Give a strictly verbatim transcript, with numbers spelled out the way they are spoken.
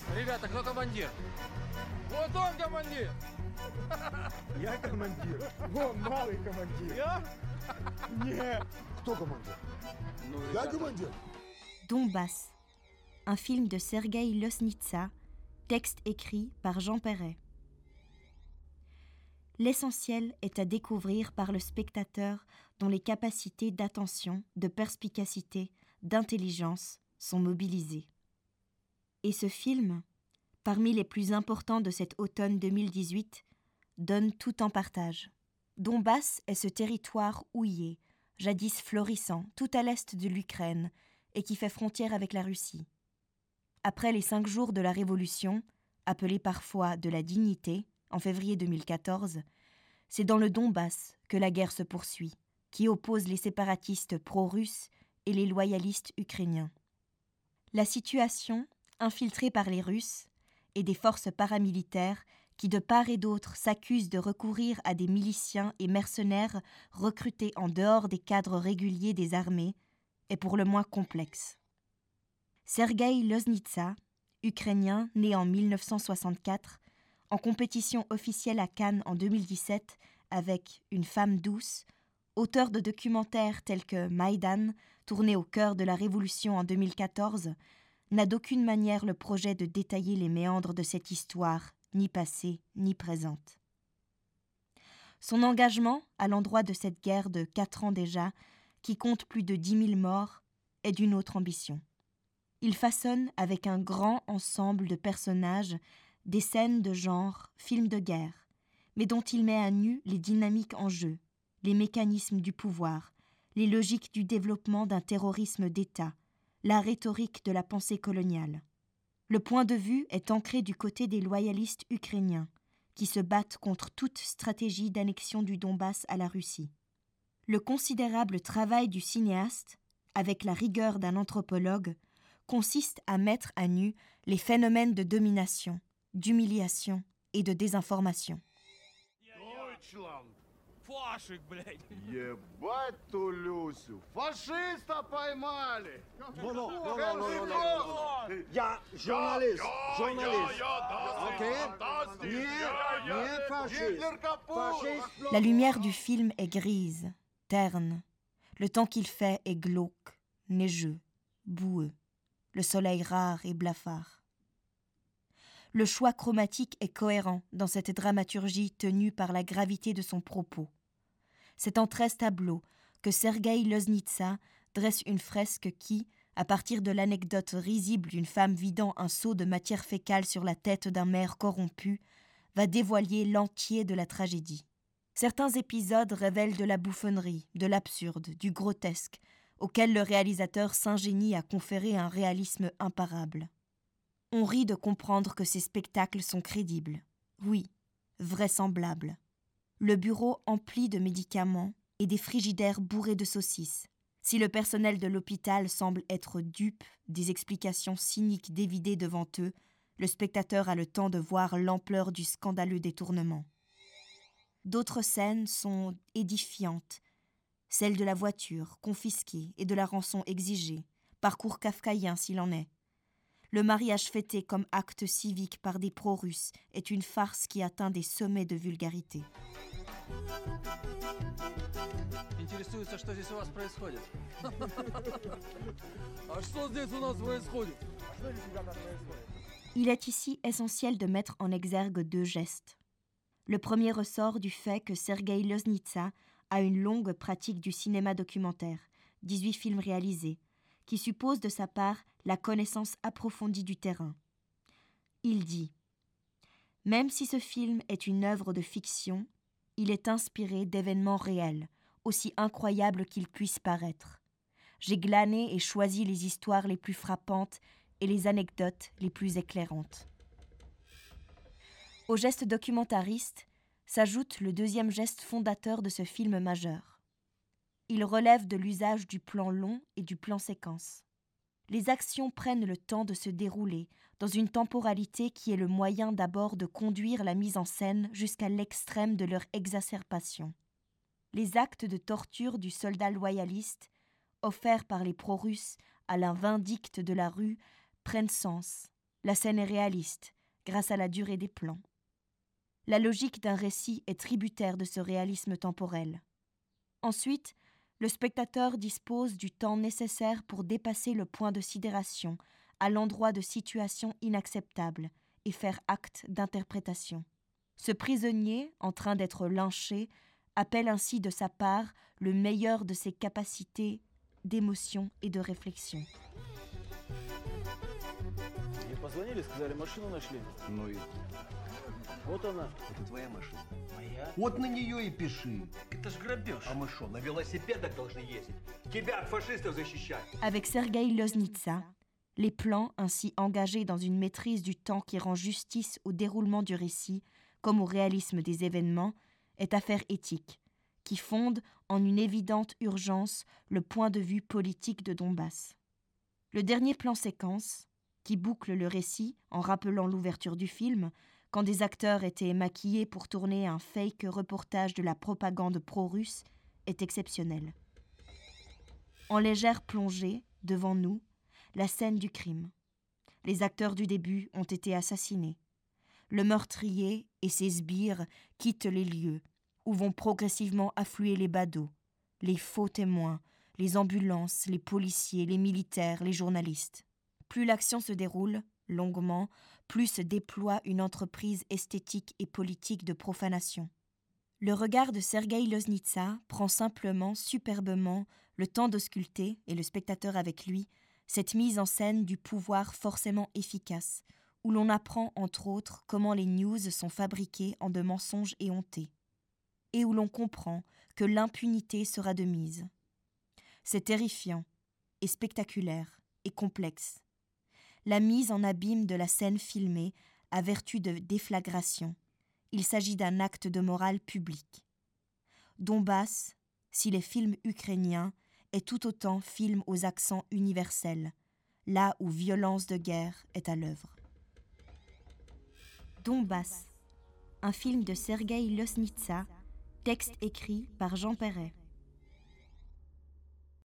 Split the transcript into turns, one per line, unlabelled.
Ребята, кто командир? Вот он командир!
Я командир. Вон малый командир.
Я?
Нет. Кто командир?
Ну,
Я
ребята.
командир.
Donbass, un film de Sergueï Loznitsa, texte écrit par Jean Perret. L'essentiel est à découvrir par le spectateur dont les capacités d'attention, de perspicacité, d'intelligence sont mobilisées. Et ce film, parmi les plus importants de cet automne deux mille dix-huit, donne tout en partage. Donbass est ce territoire houillé, jadis florissant, tout à l'est de l'Ukraine, et qui fait frontière avec la Russie. Après les cinq jours de la Révolution, appelée parfois de la dignité, en février deux mille quatorze, c'est dans le Donbass que la guerre se poursuit, qui oppose les séparatistes pro-russes et les loyalistes ukrainiens. La situation, infiltrée par les Russes et des forces paramilitaires qui de part et d'autre s'accusent de recourir à des miliciens et mercenaires recrutés en dehors des cadres réguliers des armées, est pour le moins complexe. Sergueï Loznitsa, ukrainien né en mille neuf cent soixante-quatre, en compétition officielle à Cannes en deux mille dix-sept avec Une femme douce, auteur de documentaires tels que Maïdan, tourné au cœur de la Révolution en deux mille quatorze, n'a d'aucune manière le projet de détailler les méandres de cette histoire, ni passée, ni présente. Son engagement à l'endroit de cette guerre de quatre ans déjà, qui compte plus de dix mille morts, est d'une autre ambition. Il façonne avec un grand ensemble de personnages des scènes de genre films de guerre, mais dont il met à nu les dynamiques en jeu, les mécanismes du pouvoir, les logiques du développement d'un terrorisme d'État, la rhétorique de la pensée coloniale. Le point de vue est ancré du côté des loyalistes ukrainiens, qui se battent contre toute stratégie d'annexion du Donbass à la Russie. Le considérable travail du cinéaste, avec la rigueur d'un anthropologue, consiste à mettre à nu les phénomènes de domination, d'humiliation et de désinformation.
Deutschland! Фашик, блядь!
Ебать ту Люсю! Фашиста поймали!
Non, non, non, non, non, non, non. Il y a journaliste, journaliste. Ok? Нет, нет, fasciste. Fasciste.
La lumière du film est grise, terne. Le temps qu'il fait est glauque, neigeux, boueux. Le soleil rare et blafard. Le choix chromatique est cohérent dans cette dramaturgie tenue par la gravité de son propos. C'est en treize tableaux que Sergueï Loznitsa dresse une fresque qui, à partir de l'anecdote risible d'une femme vidant un seau de matière fécale sur la tête d'un maire corrompu, va dévoiler l'entier de la tragédie. Certains épisodes révèlent de la bouffonnerie, de l'absurde, du grotesque, auquel le réalisateur s'ingénie à conférer un réalisme imparable. On rit de comprendre que ces spectacles sont crédibles. Oui, vraisemblables. Le bureau empli de médicaments et des frigidaires bourrés de saucisses. Si le personnel de l'hôpital semble être dupe des explications cyniques dévidées devant eux, le spectateur a le temps de voir l'ampleur du scandaleux détournement. D'autres scènes sont édifiantes, celle de la voiture confisquée et de la rançon exigée, parcours kafkaïen s'il en est. Le mariage fêté comme acte civique par des pro-russes est une farce qui atteint des sommets de vulgarité.
Интересуется, что здесь у вас происходит. А что здесь у нас происходит?
Что здесь, ребята, происходит?
Il est ici essentiel de mettre en exergue deux gestes. Le premier ressort du fait que Sergueï Loznitsa a une longue pratique du cinéma documentaire, dix-huit films réalisés, qui suppose de sa part la connaissance approfondie du terrain. Il dit « Même si ce film est une œuvre de fiction, il est inspiré d'événements réels, aussi incroyables qu'ils puissent paraître. J'ai glané et choisi les histoires les plus frappantes et les anecdotes les plus éclairantes. » Au geste documentariste s'ajoute le deuxième geste fondateur de ce film majeur. Il relève de l'usage du plan long et du plan séquence. Les actions prennent le temps de se dérouler dans une temporalité qui est le moyen d'abord de conduire la mise en scène jusqu'à l'extrême de leur exacerbation. Les actes de torture du soldat loyaliste, offerts par les pro-russes à la vindicte de la rue, prennent sens, La scène est réaliste, grâce à la durée des plans. La logique d'un récit est tributaire de ce réalisme temporel. Ensuite, le spectateur dispose du temps nécessaire pour dépasser le point de sidération à l'endroit de situations inacceptables et faire acte d'interprétation. Ce prisonnier, en train d'être lynché, appelle ainsi de sa part le meilleur de ses capacités d'émotion et de réflexion.
Мне позвонили, сказали, машину нашли.
Ну и
Вот она.
это твоя машина.
Моя?
Вот на нее и пиши.
Это ж грабеж.
А мы что, на велосипедах должны ездить? Тебя от фашистов защищать.
Avec Sergueï Loznitsa, les plans ainsi engagés dans une maîtrise du temps qui rend justice au déroulement du récit, comme au réalisme des événements, est affaire éthique, qui fonde en une évidente urgence le point de vue politique de Donbass. Le dernier plan séquence, qui boucle le récit en rappelant l'ouverture du film, quand des acteurs étaient maquillés pour tourner un fake reportage de la propagande pro-russe, est exceptionnel. En légère plongée, devant nous, la scène du crime. Les acteurs du début ont été assassinés. Le meurtrier et ses sbires quittent les lieux, où vont progressivement affluer les badauds, les faux témoins, les ambulances, les policiers, les militaires, les journalistes. Plus l'action se déroule, longuement, plus se déploie une entreprise esthétique et politique de profanation. Le regard de Sergueï Loznitsa prend simplement, superbement, le temps d'ausculter, et le spectateur avec lui, cette mise en scène du pouvoir forcément efficace, où l'on apprend entre autres comment les news sont fabriquées en de mensonges éhontés, et où l'on comprend que l'impunité sera de mise. C'est terrifiant, et spectaculaire, et complexe. La mise en abîme de la scène filmée a vertu de déflagration. Il s'agit d'un acte de morale publique. Donbass, s'il est film ukrainien, est tout autant film aux accents universels, là où violence de guerre est à l'œuvre. Donbass, un film de Sergueï Loznitsa, texte écrit par Jean Perret.